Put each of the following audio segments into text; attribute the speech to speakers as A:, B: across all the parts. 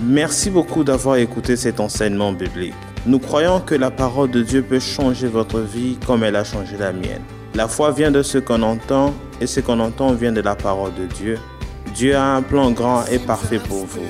A: Merci beaucoup d'avoir écouté cet enseignement biblique. Nous croyons que la parole de Dieu peut changer votre vie comme elle a changé la mienne. La foi vient de ce qu'on entend et ce qu'on entend vient de la parole de Dieu. Dieu a un plan grand et parfait pour vous.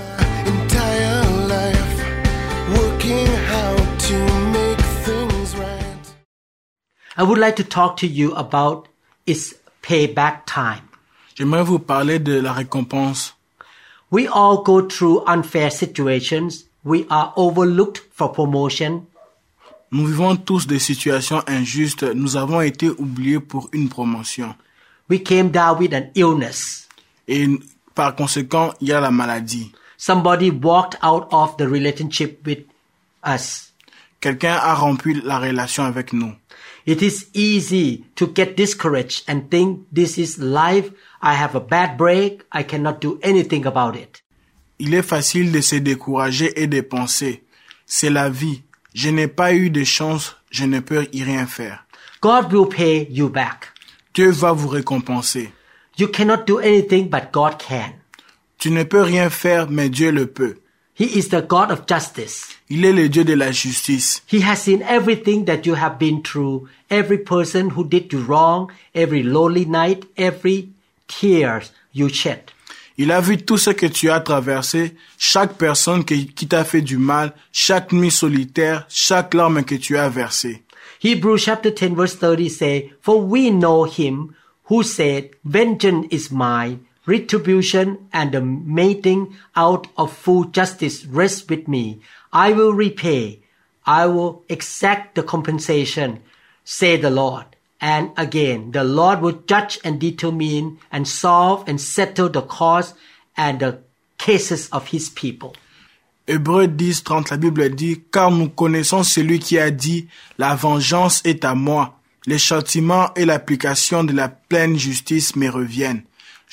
B: I would like to talk to you about its payback time.
C: J'aimerais vous parler de la récompense.
B: We all go through unfair situations. We are overlooked for promotion.
C: Nous vivons tous des situations injustes. Nous avons été oubliés pour une promotion.
B: We came down with an illness.
C: Et par conséquent, il y a la maladie.
B: Somebody walked out of the relationship with us.
C: Quelqu'un a rompu la relation avec nous.
B: It is easy to get discouraged and think this is life. I have a bad break. I cannot do anything about it.
C: Il est facile de se décourager et de penser, c'est la vie. Je n'ai pas eu de chance, je ne peux y rien faire.
B: God will pay you back.
C: Dieu va vous récompenser.
B: You cannot do anything, but God can.
C: Tu ne peux rien faire, mais Dieu le peut.
B: He is the God of justice.
C: Il est le Dieu de la justice.
B: He has seen everything that you have been through, every person who did you wrong, every lonely night, every tears you shed.
C: Il a vu tout ce que tu as traversé, chaque personne qui t'a fait du mal, chaque nuit solitaire, chaque larme que tu as versée.
B: Hebrews chapter 10 verse 30 say, For we know him who said, Vengeance is mine, retribution and the meting out of full justice rests with me. I will repay. I will exact the compensation, say the Lord. And again, the Lord will judge and determine and solve and settle the cause and the cases of his people.
C: Hébreux 10:30, la Bible dit, car nous connaissons celui qui a dit, la vengeance est à moi, les châtiments et l'application de la pleine justice me reviennent.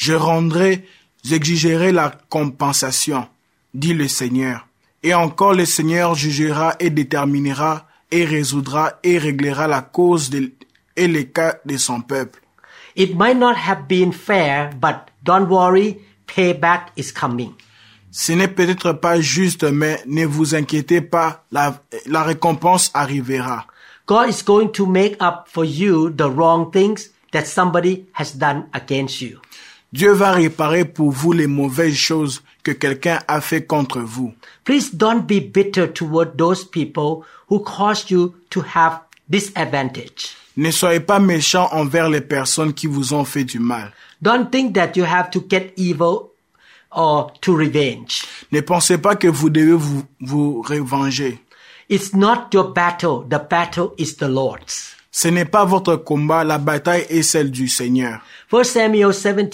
C: J'exigerai la compensation, dit le Seigneur. Et encore le Seigneur jugera et déterminera et résoudra et réglera la cause et les cas de son peuple.
B: It might not have been fair, but don't worry, payback is coming.
C: Ce n'est peut-être pas juste, mais ne vous inquiétez pas, la récompense arrivera.
B: God is going to make up for you the wrong things that somebody has done against you.
C: Dieu va réparer pour vous les mauvaises choses que quelqu'un a fait contre vous.
B: Please don't be bitter toward those people who caused you to have disadvantage.
C: Ne soyez pas méchants envers les personnes qui vous ont fait du mal.
B: Don't think that you have to get evil or to revenge.
C: Ne pensez pas que vous devez vous revenger.
B: It's not your battle. The battle is the Lord's.
C: Ce n'est pas votre combat, la bataille est celle du Seigneur.
B: 1 Samuel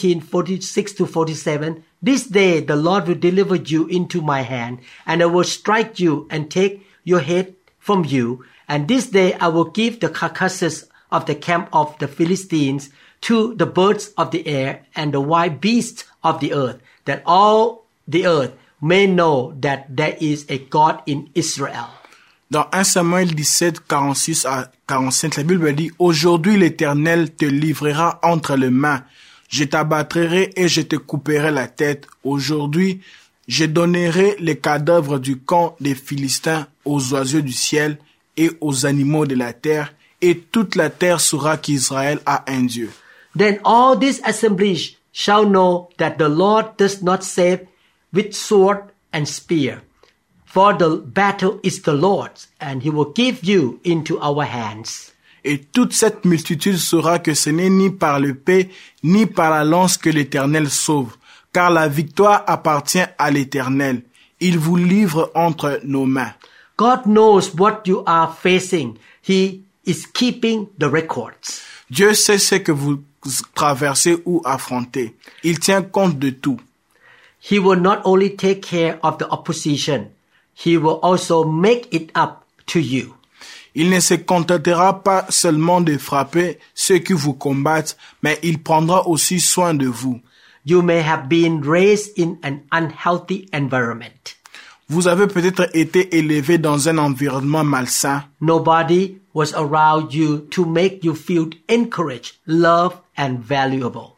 B: 17:46-47. This day the Lord will deliver you into my hand, and I will strike you and take your head from you. And this day I will give the carcasses of the camp of the Philistines to the birds of the air and the wild beasts of the earth, that all the earth may know that there is a God in Israel.
C: Dans 1 Samuel 17, 46 à 45, la Bible dit, aujourd'hui l'Éternel te livrera entre les mains. Je t'abattrai et je te couperai la tête. Aujourd'hui, je donnerai les cadavres du camp des Philistins aux oiseaux du ciel et aux animaux de la terre, et toute la terre saura qu'Israël a un Dieu.
B: Then all this assembly shall know that the Lord does not save with sword and spear. For the battle is the Lord's, and he will give you into our hands.
C: Et toute cette multitude saura que ce n'est ni par l'épée, ni par la lance que l'Éternel sauve, car la victoire appartient à l'Éternel. Il vous livre entre nos mains.
B: God knows what you are facing. He is keeping the records.
C: Dieu sait ce que vous traversez ou affrontez. Il tient compte de tout.
B: He will not only take care of the opposition, he will also make it up to you.
C: Il ne se contentera pas seulement de frapper ceux qui vous combattent, mais il prendra aussi soin de vous.
B: You may have been raised in an unhealthy environment.
C: Vous avez peut-être été élevé dans un environnement malsain.
B: Nobody was around you to make you feel encouraged, loved, and valuable.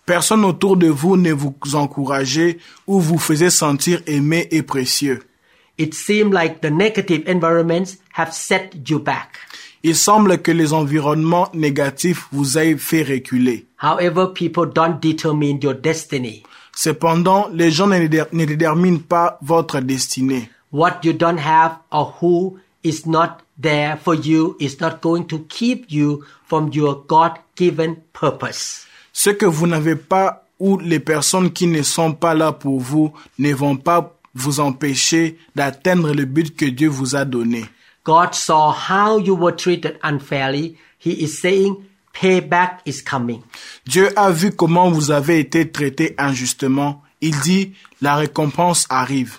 C: Personne autour de vous ne vous encourageait ou vous faisait sentir aimé et précieux.
B: It seemed like the negative environments have set you back.
C: Il semble que les environnements négatifs vous aient fait reculer.
B: However, people don't determine your destiny.
C: Cependant, les gens ne déterminent pas votre destinée.
B: What you don't have or who is not there for you is not going to keep you from your God-given purpose.
C: Ce que vous n'avez pas ou les personnes qui ne sont pas là pour vous ne vont pas vous empêcher d'atteindre le but que Dieu vous a donné.
B: God saw how you were treated unfairly. He is saying, payback is coming.
C: Dieu a vu comment vous avez été traité injustement. Il dit, la récompense arrive.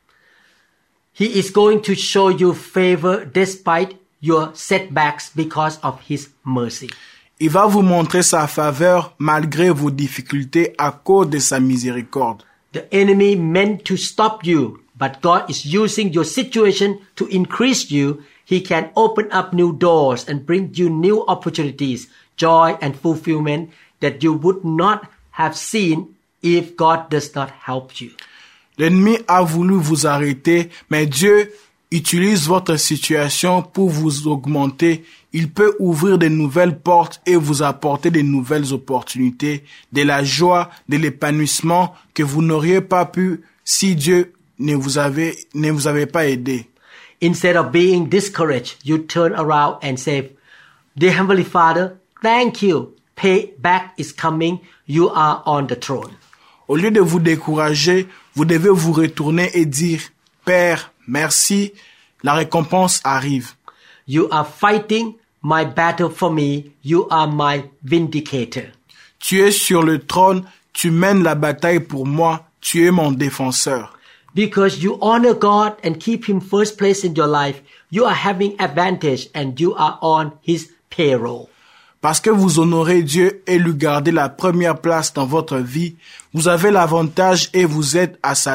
B: He is going to show you favor despite your setbacks because of His mercy.
C: Il va vous montrer sa faveur malgré vos difficultés à cause de sa miséricorde.
B: The enemy meant to stop you, but God is using your situation to increase you. He can open up new doors and bring you new opportunities, joy and fulfillment that you would not have seen if God does not help you.
C: L'ennemi a voulu vous arrêter, mais Dieu utilise votre situation pour vous augmenter. Il peut ouvrir de nouvelles portes et vous apporter de nouvelles opportunités, de la joie, de l'épanouissement que vous n'auriez pas pu si Dieu ne vous avait pas aidé.
B: Instead of being discouraged, you turn around and say, Dear Heavenly Father, thank you. Payback is coming. You are on the throne.
C: Au lieu de vous décourager, vous devez vous retourner et dire, Père, merci, la récompense arrive.
B: You are fighting my battle for me. You are my vindicator.
C: Tu es sur le trône, tu mènes la bataille pour moi, tu es mon défenseur.
B: Because you honor God and keep Him first place in your life, you are having advantage and you are on His payroll.
C: Parce que vous honorez Dieu et lui gardez la première place dans votre vie, vous avez l'avantage et vous êtes à sa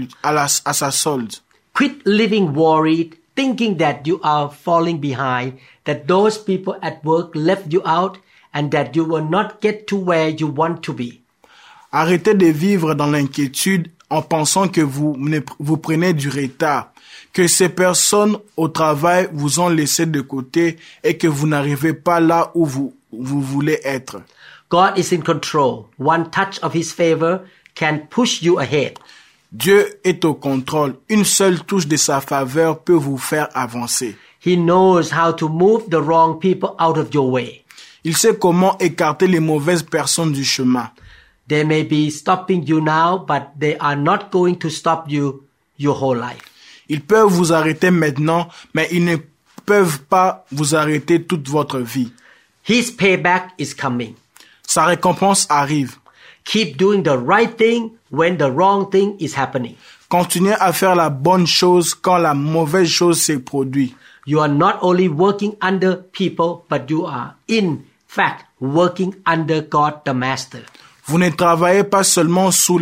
C: solde.
B: Quit living worried, thinking that you are falling behind, that those people at work left you out, and that you will not get to where you want to be.
C: Arrêtez de vivre dans l'inquiétude en pensant que vous prenez du retard, que ces personnes au travail vous ont laissé de côté et que vous n'arrivez pas là où vous voulez être.
B: God is in control. One touch of His favor can push you ahead.
C: Dieu est au contrôle. Une seule touche de sa faveur peut vous faire avancer.
B: He knows how to move the wrong people out of your way.
C: Il sait comment écarter les mauvaises personnes du chemin.
B: They may be stopping you now, but they are not going to stop you your whole life.
C: Ils peuvent vous arrêter maintenant, mais ils ne peuvent pas vous arrêter toute votre vie.
B: His payback is coming.
C: Sa récompense arrive.
B: Keep doing the right thing when the wrong thing is happening.
C: Continuez à faire la bonne chose quand la mauvaise chose se produit.
B: You are not only working under people, but you are in fact working under God the Master.
C: Vous ne travaillez pas seulement sous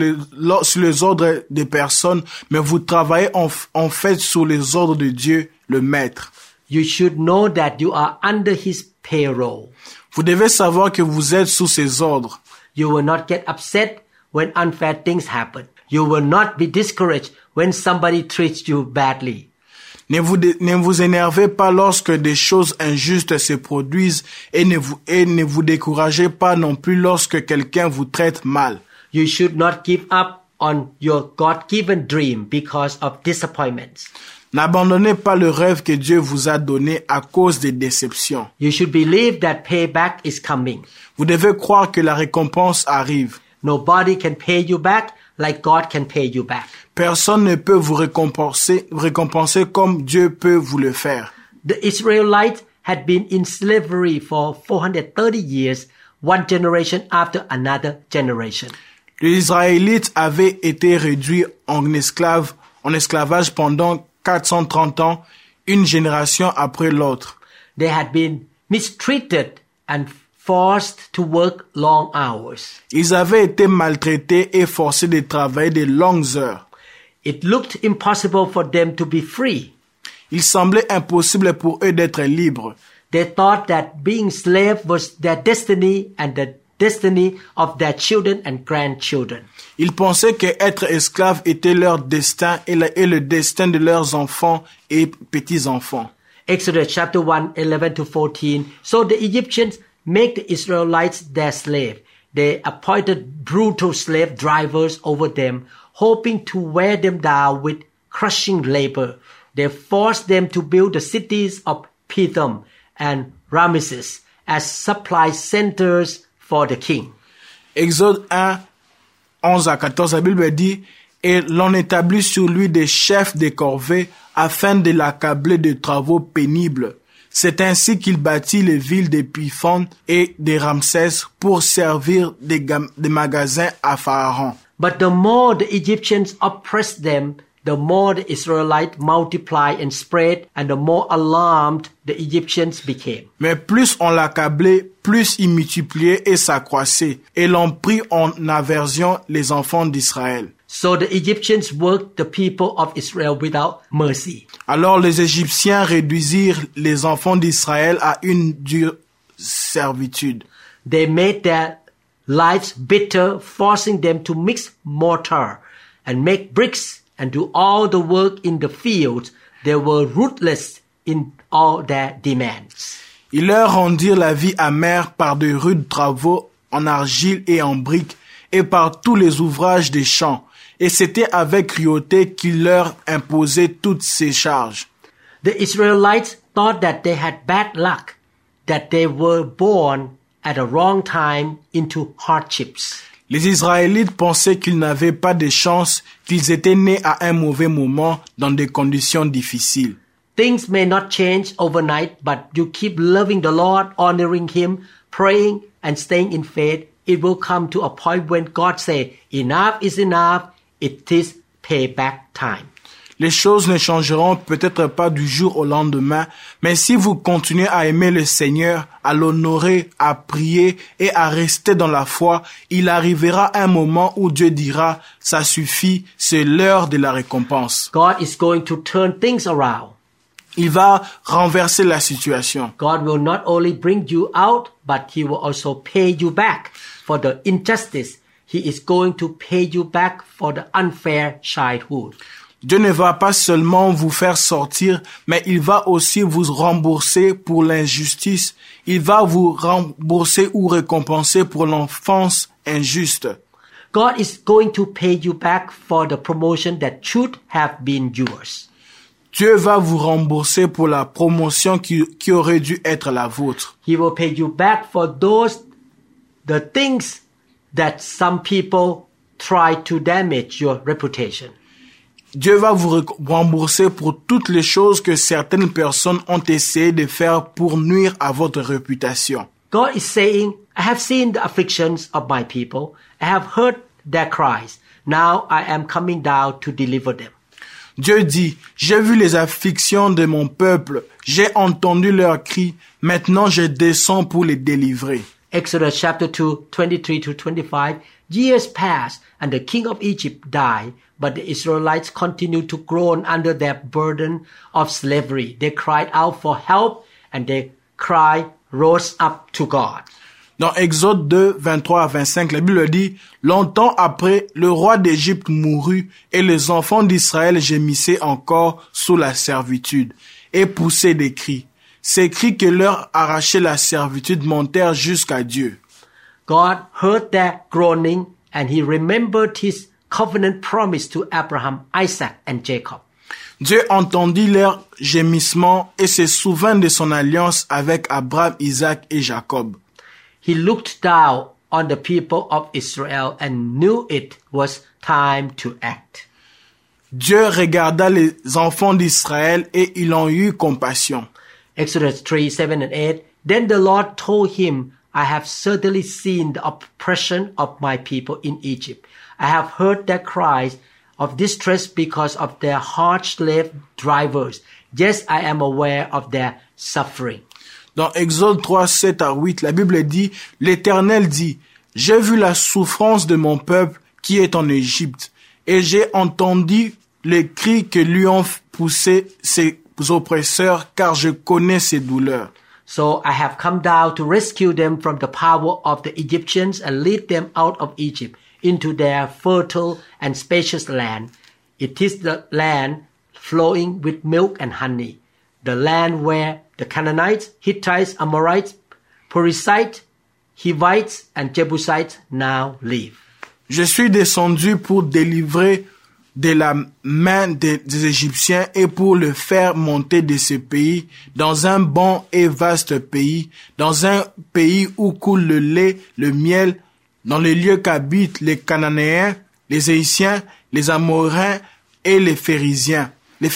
C: les ordres des personnes, mais vous travaillez en fait sous les ordres de Dieu, le Maître.
B: You should know that you are under His payroll.
C: Vous devez savoir que vous êtes sous ses ordres.
B: You will not get upset when unfair things happen. You will not be discouraged when somebody treats you badly.
C: Ne vous énervez pas lorsque des choses injustes se produisent et ne vous découragez pas non plus lorsque quelqu'un vous traite mal.
B: You should not give up on your God-given dream because of disappointments.
C: N'abandonnez pas le rêve que Dieu vous a donné à cause des déceptions.
B: You should believe that payback is coming.
C: Vous devez croire que la récompense arrive.
B: Nobody can pay you back like God can pay you back.
C: Personne ne peut vous récompenser comme Dieu peut vous le faire.
B: The Israelites had been in slavery for 430 years, one generation after another generation.
C: Les Israélites avaient été réduits en esclavage pendant 430 ans, une génération après l'autre.
B: They had been mistreated and forced to work long hours.
C: Ils avaient été maltraités et forcés de travailler de longues heures.
B: It looked impossible for them to be free.
C: Il semblait impossible pour eux d'être libres.
B: They thought that being slave was their destiny and that destiny of their children and grandchildren.
C: Ils pensaient qu'être esclaves était leur destin et le destin de leurs enfants et petits-enfants.
B: Exodus chapter 1, 11 to 14. So the Egyptians make the Israelites their slave. They appointed brutal slave drivers over them, hoping to wear them down with crushing labor. They forced them to build the cities of Pithom and Ramesses as supply centers for the king.
C: Exode 1, 11 à 14, la Bible dit « Et l'on établit sur lui des chefs des corvées afin de l'accabler de travaux pénibles. C'est ainsi qu'il bâtit les villes de Pithom et de Ramsès pour servir des magasins à Pharaon. »
B: But the more the Egyptians oppressed them, the more the Israelites multiplied and spread, and the more alarmed the Egyptians became.
C: Mais plus on l'accablait, plus il multipliait et s'accroissait, et l'on prit en aversion les enfants d'Israël.
B: So the Egyptians worked the people of Israel without mercy.
C: Alors les Égyptiens réduisirent les enfants d'Israël à une dure servitude.
B: They made their lives bitter, forcing them to mix mortar and make bricks and do all the work in the fields. They were ruthless in all their demands.
C: Ils leur rendirent la vie amère par de rudes travaux en argile et en briques et par tous les ouvrages des champs. Et c'était avec cruauté qu'ils leur imposaient toutes ces charges.
B: The Israelites thought that they had bad luck, that they were born at a wrong time into hardships.
C: Les Israélites pensaient qu'ils n'avaient pas de chance, qu'ils étaient nés à un mauvais moment dans des conditions difficiles.
B: Things may not change overnight, but you keep loving the Lord, honoring Him, praying and staying in faith. It will come to a point when God says, enough is enough, it is payback time.
C: Les choses ne changeront peut-être pas du jour au lendemain, mais si vous continuez à aimer le Seigneur, à l'honorer, à prier et à rester dans la foi, il arrivera un moment où Dieu dira, ça suffit, c'est l'heure de la récompense.
B: God is going to turn things around.
C: Il va renverser la situation.
B: God will not only bring you out, but He will also pay you back for the injustice. He is going to pay you back for the unfair childhood.
C: Dieu ne va pas seulement vous faire sortir, mais il va aussi vous rembourser pour l'injustice. Il va vous rembourser ou récompenser pour l'enfance injuste.
B: God is going to pay you back for the promotion that should have been yours.
C: Dieu va vous rembourser pour la promotion qui aurait dû être la vôtre.
B: He will pay you back for the things that some people try to damage your reputation.
C: Dieu va vous rembourser pour toutes les choses que certaines personnes ont essayé de faire pour nuire à votre réputation.
B: God is saying, I have seen the afflictions of my people. I have heard their cries. Now I am coming down to deliver them.
C: Dieu dit, j'ai vu les afflictions de mon peuple, j'ai entendu leurs cris, maintenant je descends pour les délivrer.
B: Exodus chapter 2, 23 to 25. Years passed and the king of Egypt died, but the Israelites continued to groan under their burden of slavery. They cried out for help and their cry rose up to God.
C: Dans Exode 2, 23 à 25, la Bible dit, « Longtemps après, le roi d'Égypte mourut et les enfants d'Israël gémissaient encore sous la servitude et poussaient des cris. Ces cris que leur arrachait la servitude montèrent jusqu'à Dieu. »
B: God heard their groaning and He remembered His covenant promise to Abraham, Isaac and Jacob.
C: Dieu entendit leurs gémissements et se souvint de son alliance avec Abraham, Isaac et Jacob.
B: He looked down on the people of Israel and knew it was time to act.
C: Dieu regarda les enfants d'Israël et il en eut compassion.
B: Exodus 3, 7 and 8. Then the Lord told him, I have certainly seen the oppression of my people in Egypt. I have heard their cries of distress because of their hard slave drivers. Yes, I am aware of their suffering.
C: Dans Exode 3, 7 à 8, la Bible dit, « L'Éternel dit, j'ai vu la souffrance de mon peuple qui est en Égypte, et j'ai entendu les cris que lui ont poussé ses oppresseurs, car je connais ses douleurs. »
B: So I have come down to rescue them from the power of the Egyptians and lead them out of Egypt into their fertile and spacious land. It is the land flowing with milk and honey, the land where the Canaanites, Hittites, Amorites, Perizzites, Hivites and Jebusites now live.
C: Je suis descendu pour délivrer de la main des Égyptiens et pour le faire monter de ce pays dans un bon et vaste pays, dans un pays où coule le lait, le miel, dans les lieux qu'habitent les Cananéens, les Héthiens, les Amoréens et les Phéréziens,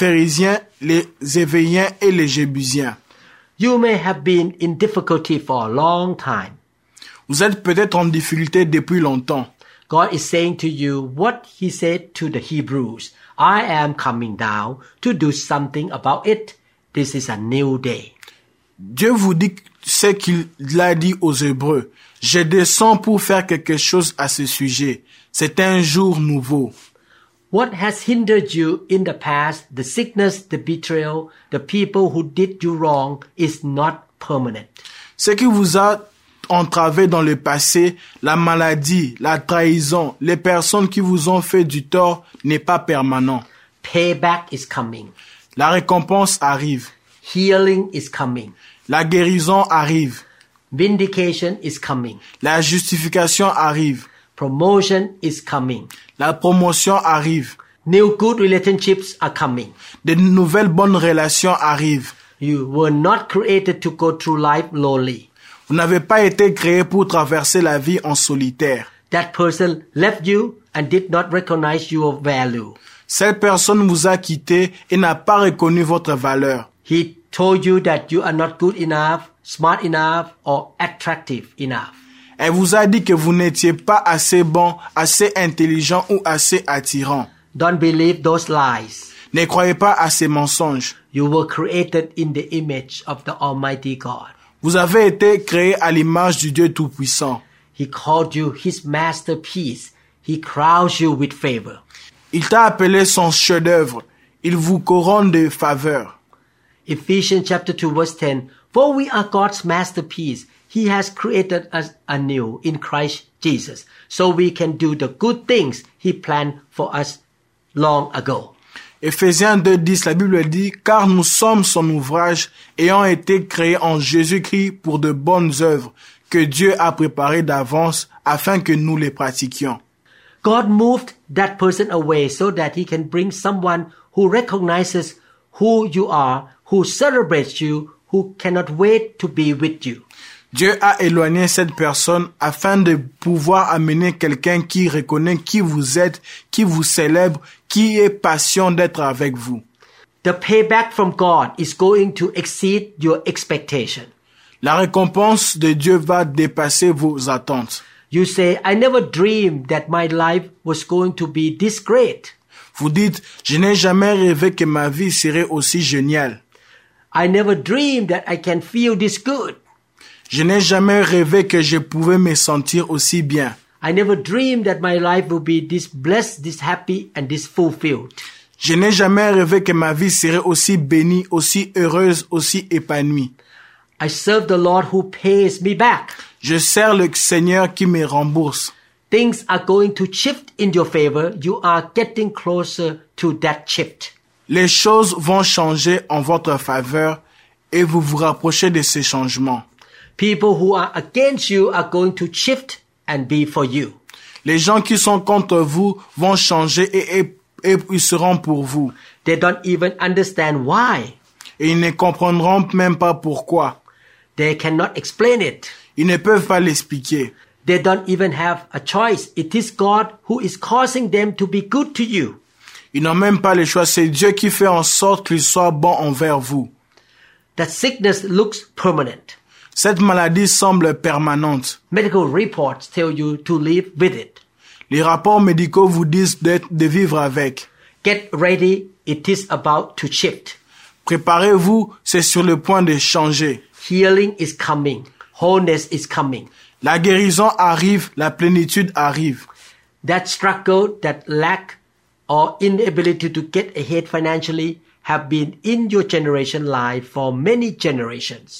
C: les Évéiens et les Jébusiens.
B: You may have been in difficulty for a long time.
C: Vous êtes peut-être en difficulté depuis longtemps.
B: God is saying to you what he said to the Hebrews. I am coming down to do something about it. This is a new day.
C: Dieu vous dit ce qu'il a dit aux Hébreux. Je descends pour faire quelque chose à ce sujet. C'est un jour nouveau.
B: What has hindered you in the past, the sickness, the betrayal, the people who did you wrong is not permanent.
C: Ce qui vous a entravé dans le passé, la maladie, la trahison, les personnes qui vous ont fait du tort n'est pas permanent.
B: Payback is coming.
C: La récompense arrive.
B: Healing is coming.
C: La guérison arrive.
B: Vindication is coming.
C: La justification arrive.
B: Promotion is coming.
C: La promotion arrive.
B: New good relationships are coming.
C: De nouvelles bonnes relations arrivent.
B: You were not created to go through life lonely.
C: Vous n'avez pas été créé pour traverser la vie en solitaire.
B: That person left you and did not recognize your value.
C: Cette personne vous a quitté et n'a pas reconnu votre valeur.
B: He told you that you are not good enough, smart enough, or attractive enough.
C: Elle vous a dit que vous n'étiez pas assez bon, assez intelligent ou assez attirant.
B: Don't believe those lies.
C: Ne croyez pas à ces mensonges.
B: You were created in the image of the Almighty God.
C: Vous avez été créé à l'image du Dieu Tout-Puissant.
B: He called you his masterpiece. He crowns you with favor.
C: Il t'a appelé son chef-d'œuvre. Il vous couronne de faveur.
B: Ephesians chapter 2 verse 10. For we are God's masterpiece. He has created us anew in Christ Jesus, so we can do the good things He planned for us long ago.
C: Éphésiens 2:10, la Bible dit, car nous sommes son ouvrage, ayant été créés en Jésus-Christ pour de bonnes œuvres, que Dieu a préparées d'avance afin que nous les pratiquions.
B: God moved that person away so that He can bring someone who recognizes who you are, who celebrates you, who cannot wait to be with you.
C: Dieu a éloigné cette personne afin de pouvoir amener quelqu'un qui reconnaît qui vous êtes, qui vous célèbre, qui est patient d'être avec vous.
B: The payback from God is going to exceed your expectation.
C: La récompense de Dieu va dépasser vos attentes.
B: You say, I never dreamed that my life was going to be this great.
C: Vous dites, je n'ai jamais rêvé que ma vie serait aussi géniale.
B: I never dreamed that I can feel this good.
C: Je n'ai jamais rêvé que je pouvais me sentir aussi bien.
B: I never dreamed that my life would be this blessed, this happy, and this fulfilled.
C: Je n'ai jamais rêvé que ma vie serait aussi bénie, aussi heureuse, aussi épanouie.
B: I serve the Lord who pays me back.
C: Je sers le Seigneur qui me rembourse.
B: Things are going to shift in your favor. You are getting closer to that shift.
C: Les choses vont changer en votre faveur et vous vous rapprochez de ces changements.
B: People who are against you are going to shift and be for you.
C: Les gens qui sont contre vous vont changer et ils seront pour vous.
B: They don't even understand why.
C: Et ils ne comprendront même pas pourquoi.
B: They cannot explain it.
C: Ils ne peuvent pas l'expliquer.
B: They don't even have a choice. It is God who is causing them to be good to you.
C: Ils n'ont même pas le choix. C'est Dieu qui fait en sorte qu'ils soient bons envers vous.
B: That sickness looks permanent.
C: Cette maladie semble permanente.
B: Medical reports tell you to live with it.
C: Les rapports médicaux vous disent de vivre avec.
B: Get ready. It is about to shift.
C: Préparez-vous, c'est sur le point de changer.
B: Healing is coming. Wholeness is coming.
C: La guérison arrive, la plénitude arrive.
B: That struggle, that lack or inability to get ahead financially have been in your generation life for many generations.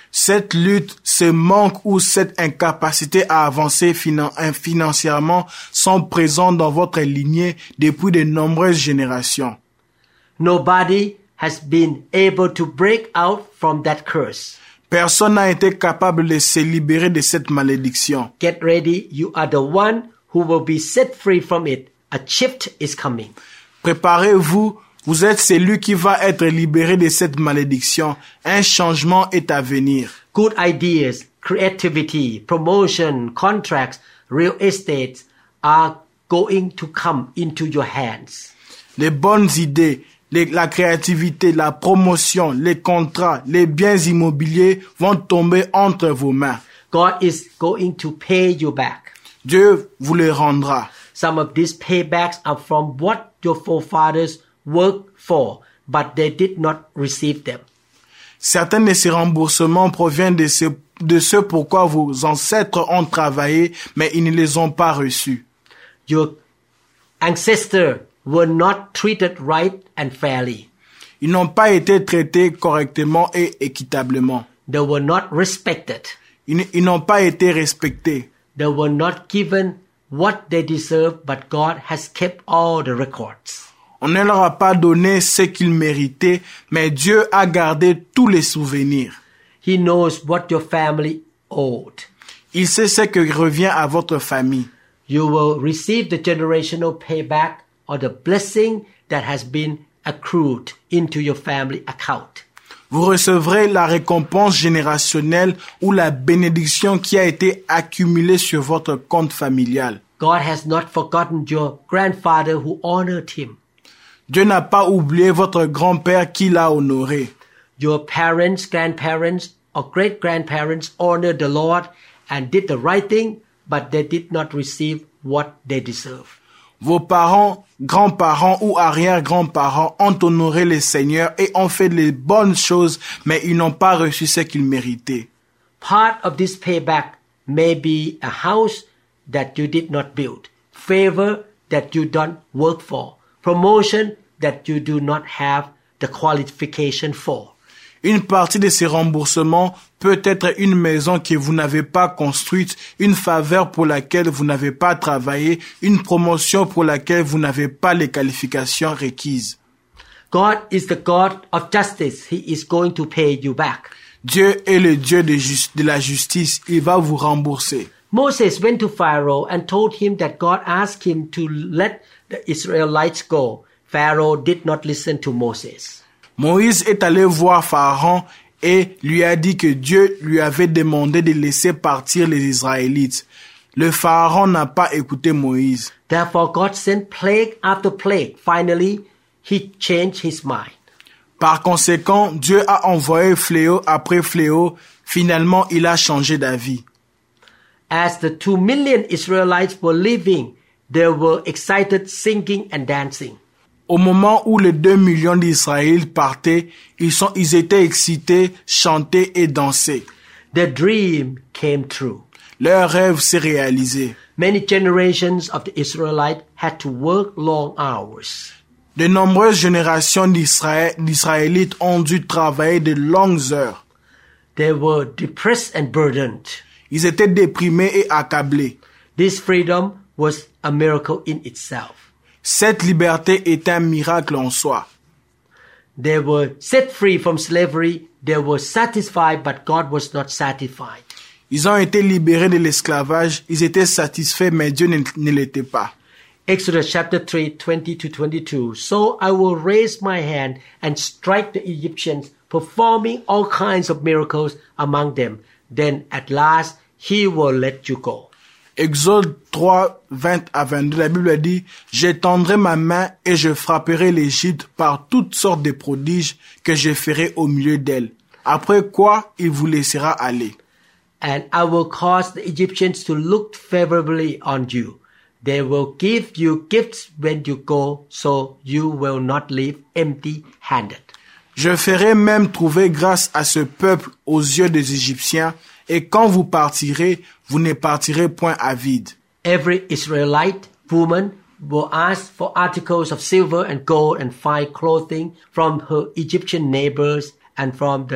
C: Cette lutte, ce manque ou cette incapacité à avancer financièrement sont présents dans votre lignée depuis de nombreuses générations.
B: Nobody has been able to break out from that curse.
C: Personne n'a été capable de se libérer de cette malédiction.
B: Get ready, you are the one who will be set free from it. A shift is coming.
C: Préparez-vous, vous êtes celui qui va être libéré de cette malédiction. Un changement est à venir.
B: Good ideas, creativity, promotion, contracts, real estate are going to come into your hands.
C: Les bonnes idées, la créativité, la promotion, les contrats, les biens immobiliers vont tomber entre vos mains.
B: God is going to pay you back.
C: Dieu vous les rendra.
B: Some of these paybacks are from what your forefathers worked for, but they did not receive them.
C: Certains de ces remboursements proviennent de ce pourquoi vos ancêtres ont travaillé, mais ils ne les ont pas reçus.
B: Your ancestors were not treated right and fairly.
C: Ils n'ont pas été traités correctement et équitablement.
B: They were not respected.
C: Ils n'ont pas été respectés.
B: They were not given what they deserved, but God has kept all the records.
C: On ne leur a pas donné ce qu'ils méritaient, mais Dieu a gardé tous les souvenirs.
B: He knows what your family owed.
C: Il sait ce que revient à votre famille.
B: You will receive the generational payback or the blessing that has been accrued into your family account.
C: Vous recevrez la récompense générationnelle ou la bénédiction qui a été accumulée sur votre compte familial.
B: God has not forgotten your grandfather who honored him.
C: Dieu n'a pas oublié votre grand-père qui l'a honoré.
B: Your parents, grandparents, or great-grandparents honored the Lord and did the right thing, but they did not receive what they deserve.
C: Vos parents, grands-parents ou arrière-grands-parents ont honoré le Seigneur et ont fait les bonnes choses, mais ils n'ont pas reçu ce qu'ils méritaient.
B: Part of this payback may be a house that you did not build, favor that you don't work for, promotion that you do not have the qualification for.
C: Une partie de ces remboursements peut être une maison que vous n'avez pas construite, une faveur pour laquelle vous n'avez pas travaillé, une promotion pour laquelle vous n'avez pas les qualifications requises.
B: God is the God of justice. He is going to pay you back.
C: Dieu est le Dieu de la justice. Il va vous rembourser.
B: Moses went to Pharaoh and told him that God asked him to let the Israelites go. Pharaoh did not listen to Moses.
C: Moïse est allé voir Pharaon et lui a dit que Dieu lui avait demandé de laisser partir les Israélites. Le Pharaon n'a pas écouté Moïse.
B: Therefore, God sent plague after plague. Finally, he changed his mind.
C: Par conséquent, Dieu a envoyé fléau après fléau. Finalement, il a changé d'avis.
B: As the 2 million Israelites were leaving, they were excited, singing and dancing.
C: Au moment où les 2 millions d'Israélites partaient, ils étaient excités, chantaient et dansaient.
B: Their dream came true.
C: Leur rêve s'est réalisé.
B: Many generations of the Israelites had to work long hours.
C: De nombreuses générations d'Israélites ont dû travailler de longues heures.
B: They were depressed and burdened.
C: Ils étaient déprimés et accablés.
B: This freedom was a miracle in itself.
C: Cette liberté est un miracle en soi.
B: They were set free from slavery. They were satisfied, but God was not satisfied.
C: Ils ont été libérés de l'esclavage. Ils étaient satisfaits, mais Dieu ne l'était pas.
B: Exodus chapter 3, 20-22. So I will raise my hand and strike the Egyptians, performing all kinds of miracles among them. Then at last he will let you go.
C: Exode 3, 20 à 22, la Bible dit « J'étendrai ma main et je frapperai l'Égypte par toutes sortes de prodiges que je ferai au milieu d'elle. Après quoi, il vous laissera aller.
B: And I will cause the Egyptians to look favorably on you. They will give you gifts when you go, so you will not leave empty-handed.
C: Je ferai même trouver grâce à ce peuple aux yeux des Égyptiens, et quand vous partirez, vous ne partirez point à vide.
B: Every Israelite woman will ask for articles of silver and gold and fine clothing from her Egyptian neighbors and from the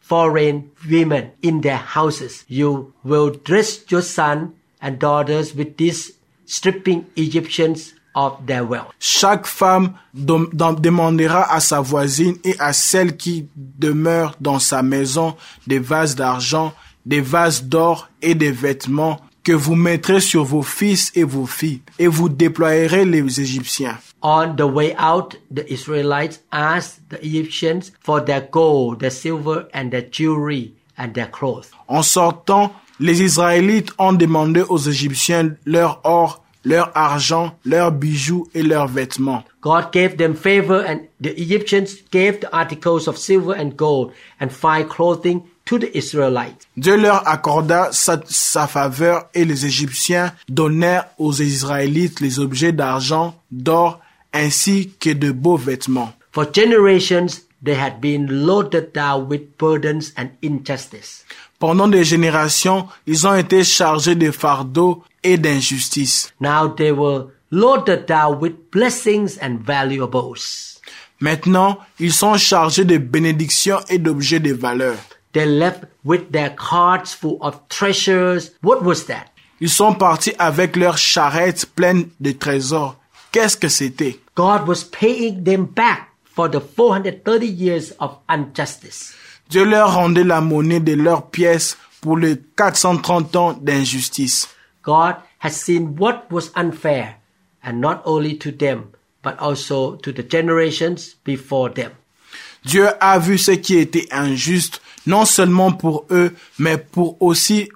B: foreign women in their houses. You will dress your sons and daughters with these stripping Egyptians of their wealth.
C: Chaque femme demandera à sa voisine et à celle qui demeure dans sa maison des vases d'argent, des vases d'or et des vêtements que vous mettrez sur vos fils et vos filles, et vous déployerez les Égyptiens.
B: On the way out, the Israelites asked the Egyptians for their gold, their silver, and their jewelry, and their clothes.
C: En sortant, les Israélites ont demandé aux Égyptiens leur or, leur argent, leurs bijoux et leurs vêtements.
B: God gave them favor, and the Egyptians gave the articles of silver and gold and fine clothing to the Israelites.
C: Dieu leur accorda sa faveur et les Égyptiens donnèrent aux Israélites les objets d'argent, d'or, ainsi que de beaux vêtements.
B: For generations, they had been loaded down with burdens and injustice.
C: Pendant des générations, ils ont été chargés de fardeaux et d'injustice.
B: Now they were loaded down with blessings and valuables.
C: Maintenant, ils sont chargés de bénédictions et d'objets de valeur.
B: They left with their carts full of treasures. What was that?
C: Ils sont partis avec leurs charrettes pleines de trésors. Qu'est-ce que c'était?
B: God was paying them back for the 430 years of injustice.
C: Dieu leur rendait la monnaie de leurs pièces pour les 430 ans d'injustice.
B: God has seen what was unfair, and not only to them, but also to the generations before them.
C: Dieu a vu ce qui était injuste, non seulement pour eux, mais aussi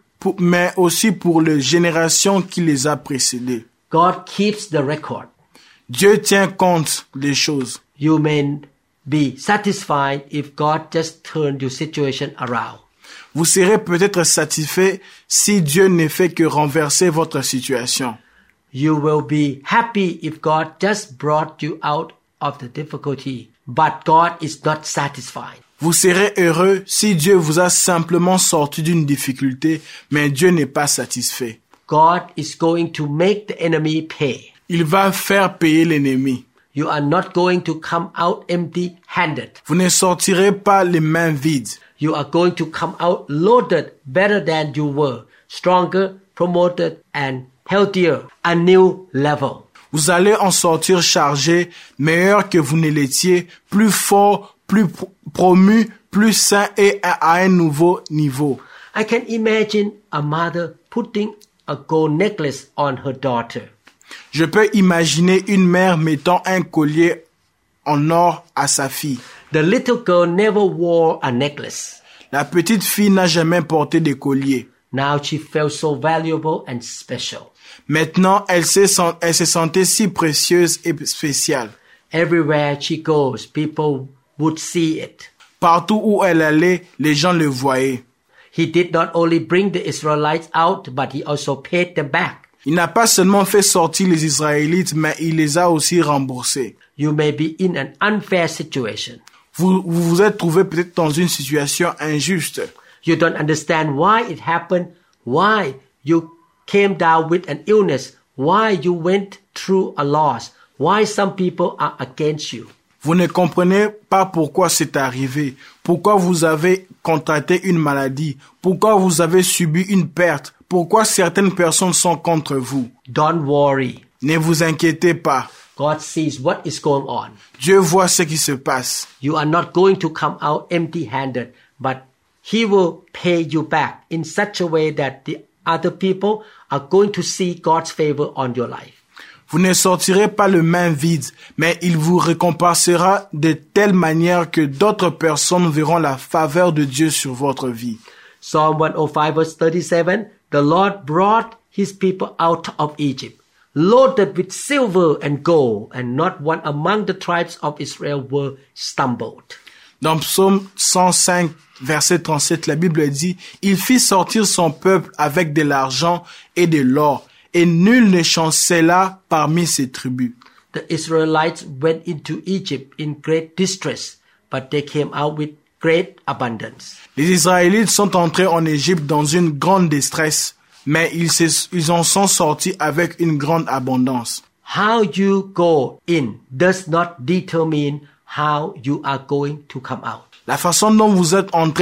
C: pour les générations qui les a précédées.
B: God keeps the record.
C: Dieu tient compte des choses.
B: You may be satisfied if God just turned your situation around.
C: Vous serez peut-être satisfait si Dieu ne fait que renverser votre situation.
B: You will be happy if God just brought you out of the difficulty. But God is not satisfied.
C: Vous serez heureux si Dieu vous a simplement sorti d'une difficulté, mais Dieu n'est pas satisfait.
B: God is going to make the enemy pay.
C: Il va faire payer l'ennemi.
B: You are not going to come out empty-handed.
C: Vous ne sortirez pas les mains vides.
B: You are going to come out loaded better than you were, stronger, promoted, and healthier, a new level.
C: Vous allez en sortir chargé, meilleur que vous ne l'étiez, plus fort, plus promu, plus sain et à un nouveau niveau.
B: I can imagine a mother putting a gold necklace on her daughter.
C: Je peux imaginer une mère mettant un collier en or à sa fille.
B: The little girl never wore a necklace.
C: La petite fille n'a jamais porté de collier.
B: Now she felt so valuable and special.
C: Maintenant, elle se sentait si précieuse et spéciale.
B: Everywhere she goes, people would see it.
C: Partout où elle allait, les gens le voyaient.
B: He did not only bring the Israelites out, but he also paid them back.
C: Il n'a pas seulement fait sortir les Israélites, mais il les a aussi remboursés.
B: You may be in an unfair situation.
C: Vous vous êtes trouvé peut-être dans une situation injuste.
B: You don't understand why it happened, why you came down with an illness, why you went through a loss, why some people are against you.
C: Vous ne comprenez pas pourquoi c'est arrivé, pourquoi vous avez contracté une maladie, pourquoi vous avez subi une perte, pourquoi certaines personnes sont contre vous.
B: Don't worry.
C: Ne vous inquiétez pas.
B: God sees what is going on.
C: Dieu voit ce qui se passe.
B: You are not going to come out empty-handed, but He will pay you back in such a way that the other people are going to see God's favor on your life.
C: Vous ne sortirez pas les mains vides, mais il vous récompensera de telle manière que d'autres personnes verront la faveur de Dieu sur votre vie.
B: Psalm 105 verse 37, the Lord brought His people out of Egypt, loaded with silver and gold, and not one among the tribes of Israel were stumbled.
C: Dans Psaume 105, verset 37, la Bible dit, « Il fit sortir son peuple avec de l'argent et de l'or, et nul ne chancela parmi ses tribus. »
B: The Israelites went into Egypt in great distress, but they came out with great abundance.
C: Les Israélites sont entrés en Égypte dans une grande détresse, mais ils en sont sortis avec une grande abondance.
B: How you go in does not determine how you are going to come out.
C: La façon dont vous êtes entré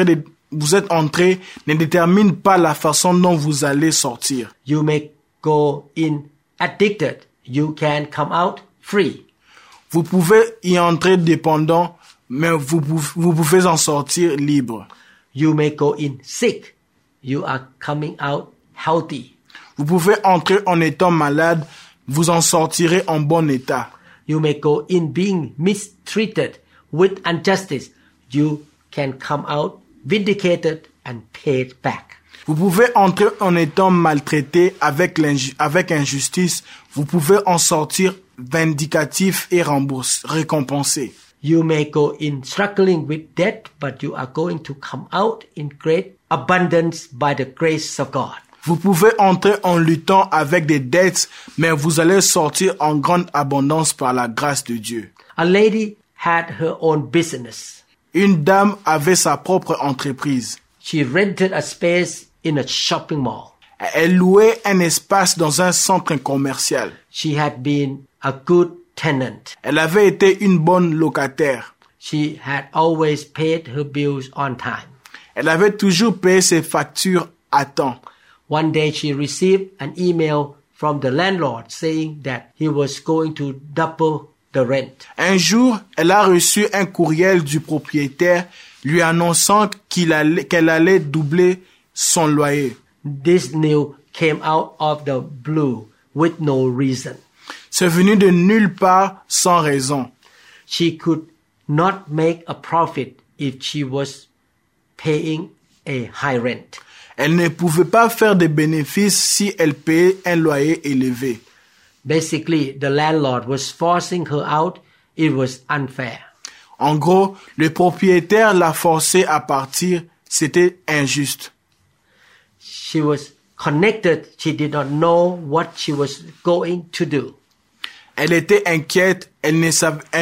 C: vous êtes entré ne détermine pas la façon dont vous allez sortir.
B: You may go in addicted. You can come out free.
C: Vous pouvez y entrer dépendant, mais vous pouvez en sortir libre.
B: You may go in sick. You are coming out healthy.
C: Vous pouvez entrer en étant malade, vous en sortirez en bon état.
B: You may go in being mistreated with injustice. You can come out vindicated and paid back.
C: Vous pouvez entrer en étant maltraité avec injustice. Vous pouvez en sortir vindicatif et récompensé.
B: You may go in struggling with debt, but you are going to come out in great abundance by the grace of God.
C: Vous pouvez entrer en luttant avec des dettes, mais vous allez sortir en grande abondance par la grâce de Dieu.
B: A lady had her own business.
C: Une dame avait sa propre entreprise.
B: She rented a space in a shopping mall.
C: Elle louait un espace dans un centre commercial.
B: She had been a good tenant.
C: Elle avait été une bonne locataire.
B: She had always paid her bills on time.
C: Elle avait toujours payé ses factures à temps.
B: One day she received an email from the landlord saying that he was going to double the rent.
C: Un jour, elle a reçu un courriel du propriétaire lui annonçant qu'elle allait doubler son loyer.
B: This news came out of the blue with no reason.
C: C'est venu de nulle part sans raison.
B: She could not make a profit if she was paying a high rent.
C: Elle ne pouvait pas faire de bénéfices si elle payait un loyer élevé.
B: Basically, the landlord was forcing her out. It was unfair.
C: En gros, le propriétaire l'a forcée à partir. C'était injuste.
B: She was connected. She did not know what she was going to do.
C: Elle était inquiète. Elle ne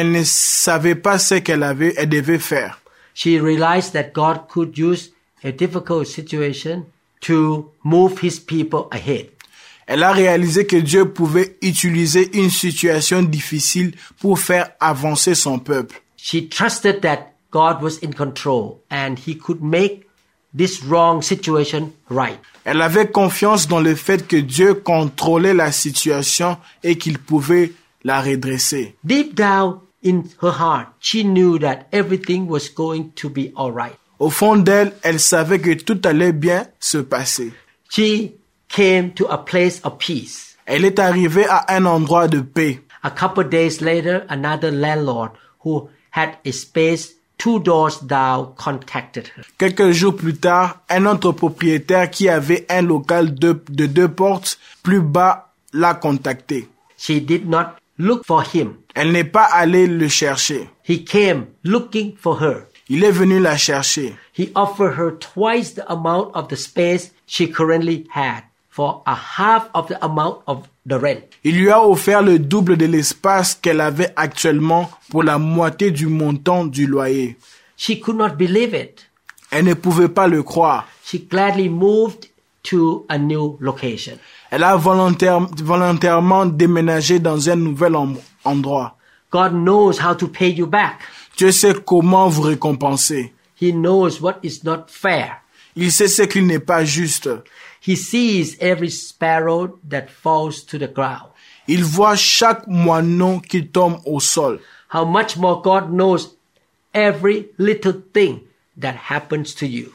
C: savait pas ce elle devait faire.
B: She realized that God could use a difficult situation to move his people ahead.
C: Elle a réalisé que Dieu pouvait utiliser une situation difficile pour faire avancer son peuple.
B: She trusted that God was in control and he could make this wrong situation right.
C: Elle avait confiance dans le fait que Dieu contrôlait la situation et qu'il pouvait la redresser.
B: Deep down in her heart, she knew that everything was going to be all right.
C: Au fond d'elle, elle savait que tout allait bien se passer.
B: She came to a place of peace.
C: Elle est arrivée à un endroit de paix.
B: A couple days later, another landlord who had a space 2 doors down contacted her.
C: Quelques jours plus tard, un autre propriétaire qui avait un local de 2 portes plus bas l'a contacté.
B: She did not look for him.
C: Elle n'est pas allée le chercher.
B: He came looking for her.
C: Il est venu la chercher.
B: He offered her twice the amount of the space she currently had for a half of the amount of the rent.
C: Il lui a offert le double de l'espace qu'elle avait actuellement pour la moitié du montant du loyer.
B: She could not believe it.
C: Elle ne pouvait pas le croire.
B: She gladly moved to a new location.
C: Elle a volontairement déménagé dans un nouvel endroit.
B: God knows how to pay you back.
C: Dieu sait comment vous récompenser.
B: He knows what is not fair.
C: Il sait ce qui n'est pas juste.
B: He sees every sparrow that falls to the ground.
C: Il voit chaque moineau qui tombe au sol.
B: How much more God knows every little thing that happens to you.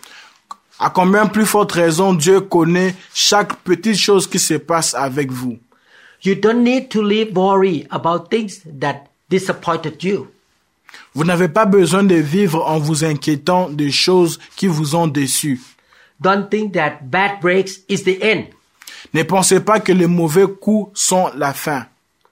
C: À combien plus forte raison Dieu connaît chaque petite chose qui se passe avec vous.
B: You don't need to live worry about things that disappointed you.
C: Vous n'avez pas besoin de vivre en vous inquiétant des choses qui vous ont déçu.
B: Don't think that bad breaks is the end.
C: Ne pensez pas que les mauvais coups sont la fin.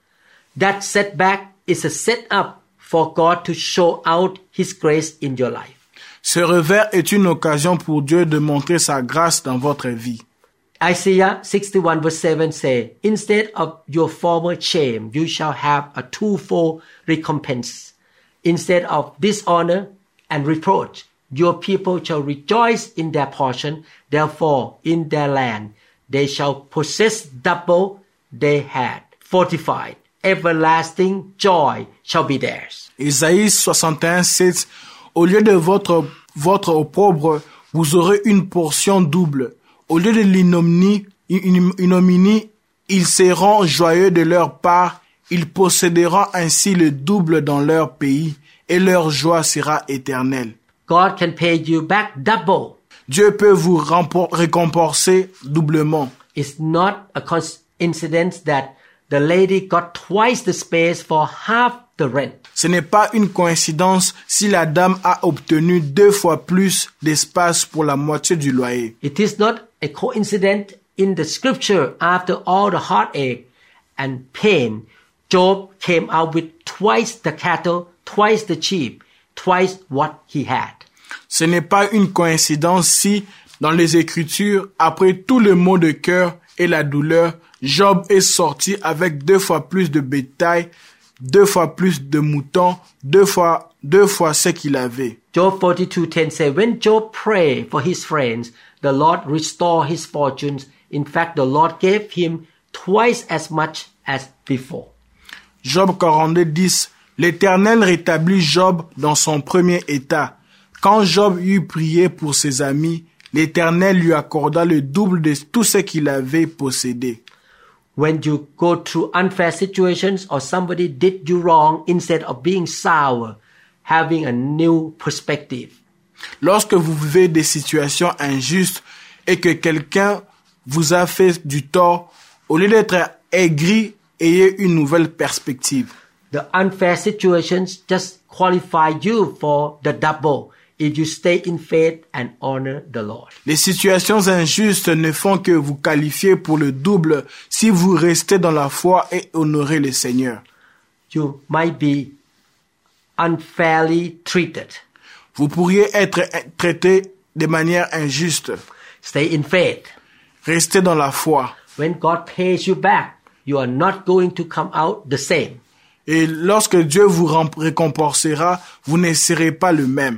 B: That setback is a setup for God to show out His grace in your life.
C: Ce revers est une occasion pour Dieu de montrer sa grâce dans votre vie.
B: Isaiah 61 verse 7 say, Instead of your former shame, you shall have a twofold recompense. Instead of dishonor and reproach, your people shall rejoice in their portion. Therefore, in their land, they shall possess double they had fortified. Everlasting joy shall be theirs.
C: Isaïe 61, 7. Au lieu de votre opprobre, vous aurez une portion double. Au lieu de l'ignominie, ils seront joyeux de leur part, ils posséderont ainsi le double dans leur pays, et leur joie sera éternelle.
B: God can pay you back double.
C: Dieu peut vous récompenser doublement.
B: It's not a coincidence that the lady got twice the space for half the rent.
C: Ce n'est pas une coïncidence si la dame a obtenu 2 fois plus d'espace pour la moitié du loyer.
B: It is not a coincidence in the scripture after all the heartache and pain, Job came out with twice the cattle, twice the sheep, twice what he had.
C: Ce n'est pas une coïncidence si, dans les Écritures, après tout le mot de cœur et la douleur, Job est sorti avec 2 fois plus de bétail, 2 fois plus de moutons, 2 fois ce qu'il avait.
B: Job 42:10 says, when Job prayed for his friends, the Lord restored his fortunes. In fact, the Lord gave him twice as much as before.
C: Job 42:10, l'Éternel rétablit Job dans son premier état. Quand Job eut prié pour ses amis, l'Éternel lui accorda le double de tout ce qu'il avait possédé.
B: When you go through unfair situations or somebody did you wrong, instead of being sour, having a new perspective.
C: Lorsque vous vivez des situations injustes et que quelqu'un vous a fait du tort, au lieu d'être aigri, ayez une nouvelle perspective.
B: The unfair situations just qualify you for the double if you stay in faith and honor the Lord.
C: Les situations injustes ne font que vous qualifier pour le double si vous restez dans la foi et honorez le Seigneur.
B: You might be unfairly treated.
C: Vous pourriez être traité de manière injuste.
B: Stay in faith.
C: Restez dans la foi.
B: When God pays you back, you are not going to come out the same.
C: Et lorsque Dieu vous récompensera, vous ne serez pas le même.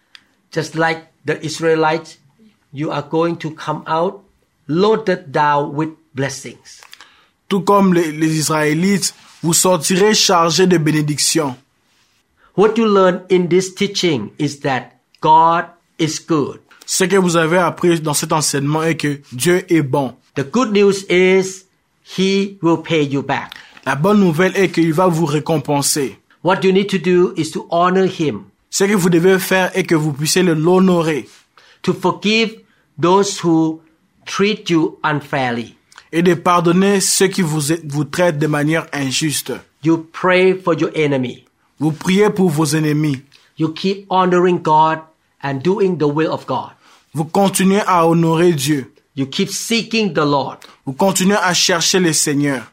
B: Just like the Israelites, you are going to come out loaded down with blessings.
C: Tout comme les Israélites, vous sortirez chargés de bénédictions.
B: What you learn in this teaching is that God is good.
C: Ce que vous avez appris dans cet enseignement est que Dieu est bon.
B: The good news is He will pay you back.
C: La bonne nouvelle est qu'il va vous récompenser.
B: What you need to do is to honor Him.
C: Ce que vous devez faire est que vous puissiez l'honorer.
B: To forgive those who treat you unfairly.
C: Et de pardonner ceux qui vous traitent de manière injuste.
B: You pray for your enemy.
C: Vous priez pour vos ennemis.
B: You keep honoring God and doing the will of God.
C: Vous continuez à honorer Dieu.
B: You keep seeking the Lord.
C: Vous continuez à chercher le Seigneur.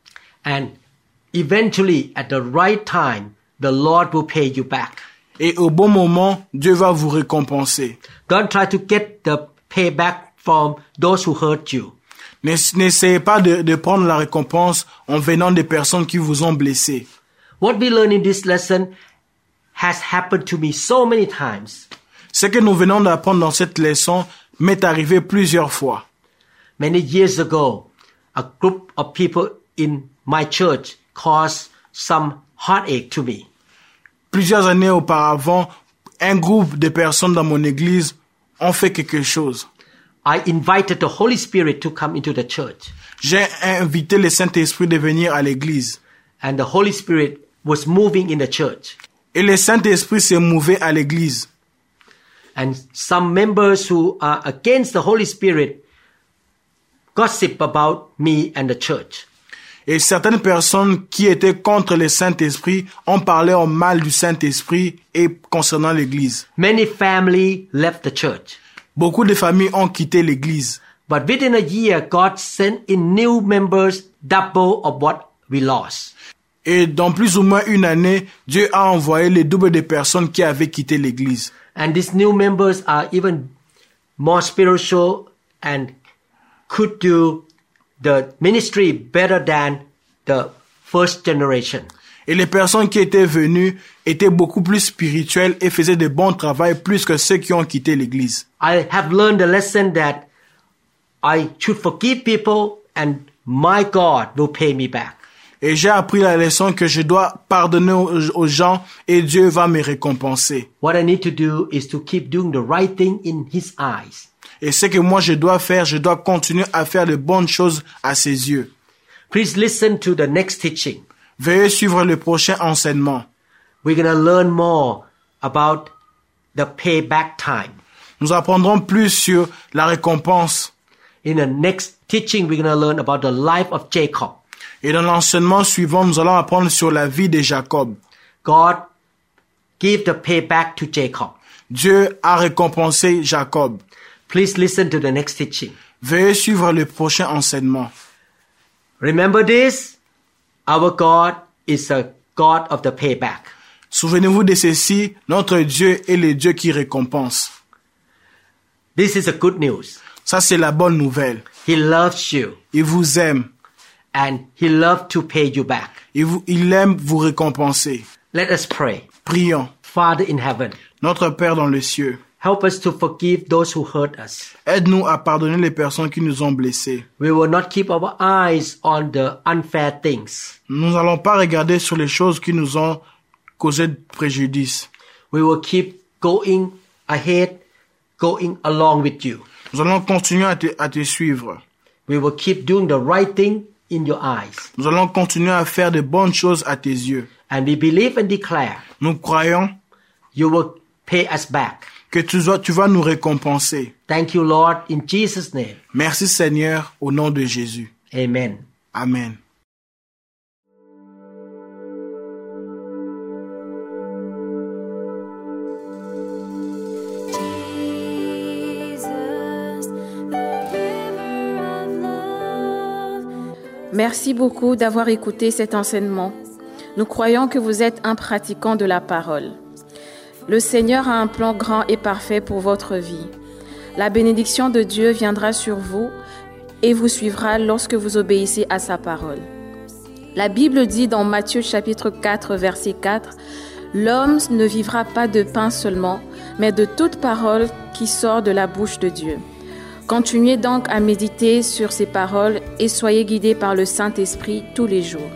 B: And eventually, at the right time, the Lord will pay you back.
C: Et au bon moment, Dieu va vous récompenser.
B: Don't try to get the payback from those who hurt you.
C: N'essayez pas de prendre la récompense en venant des personnes qui vous ont blessé.
B: What we learn in this lesson has happened to me so many times.
C: Ce que nous venons d'apprendre dans cette leçon m'est arrivé plusieurs fois.
B: Many years ago, a group of people in my church caused some heartache to me.
C: Plusieurs années auparavant, un groupe de personnes dans mon église ont fait quelque chose.
B: I invited the Holy Spirit to come into the church.
C: J'ai invité le Saint-Esprit de venir à l'église.
B: And the Holy Spirit was moving in the church.
C: Et le Saint-Esprit s'est mouvé à l'église.
B: And some members who are against the Holy Spirit gossip about me and the church.
C: Et certaines personnes qui étaient contre le Saint-Esprit ont parlé en mal du Saint-Esprit et concernant l'église.
B: Many families left the church.
C: Beaucoup de familles ont quitté l'église.
B: But within a year, God sent in new members double of what we lost.
C: Et dans plus ou moins une année, Dieu a envoyé le double de personnes qui avaient quitté l'église.
B: And these new members are even more spiritual and could do the ministry better than the first generation.
C: Et les personnes qui étaient venues étaient beaucoup plus spirituelles et faisaient de bons travaux plus que ceux qui ont quitté l'église.
B: I have learned the lesson that I should forgive people and my God will pay me back.
C: Et j'ai appris la leçon que je dois pardonner aux gens et Dieu va me récompenser.
B: What I need to do is to keep doing the right thing in His eyes.
C: Et ce que moi je dois faire, je dois continuer à faire de bonnes choses à ses yeux.
B: Please listen to the next teaching.
C: Veuillez suivre le prochain enseignement.
B: We're going to learn more about the payback time.
C: Nous apprendrons plus sur la récompense.
B: In the next teaching, we're going to learn about the life of Jacob.
C: Et dans l'enseignement suivant, nous allons apprendre sur la vie de Jacob.
B: God gave the payback to Jacob.
C: Dieu a récompensé Jacob.
B: Please listen to the next teaching.
C: Veuillez suivre le prochain enseignement.
B: Remember this, our God is a God of the payback.
C: Souvenez-vous de ceci, notre Dieu est le Dieu qui récompense.
B: This is a good news.
C: Ça, c'est la bonne nouvelle.
B: He loves you
C: Il vous aime.
B: and He loves to pay you back.
C: Il aime vous récompenser.
B: Let us pray.
C: Prions.
B: Father in heaven,
C: Notre Père dans les cieux,
B: help us to forgive those who hurt us.
C: aide-nous à pardonner les personnes qui nous ont blessés.
B: We will not keep our eyes on the unfair things.
C: Nous n'allons pas regarder sur les choses qui nous ont causé de préjudice.
B: We will keep going ahead, going along with you.
C: Nous allons continuer à te suivre.
B: We will keep doing the right thing in your eyes.
C: Nous allons continuer à faire de bonnes choses à tes yeux.
B: And we believe and declare
C: Nous croyons
B: you will pay us back.
C: que tu vas nous récompenser.
B: Thank you, Lord, in Jesus' name.
C: Merci Seigneur, au nom de Jésus.
B: Amen.
C: Amen.
D: Merci beaucoup d'avoir écouté cet enseignement. Nous croyons que vous êtes un pratiquant de la parole. Le Seigneur a un plan grand et parfait pour votre vie. La bénédiction de Dieu viendra sur vous et vous suivra lorsque vous obéissez à sa parole. La Bible dit dans Matthieu chapitre 4, verset 4, « L'homme ne vivra pas de pain seulement, mais de toute parole qui sort de la bouche de Dieu. » Continuez donc à méditer sur ces paroles et soyez guidés par le Saint-Esprit tous les jours.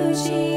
E: Jesus.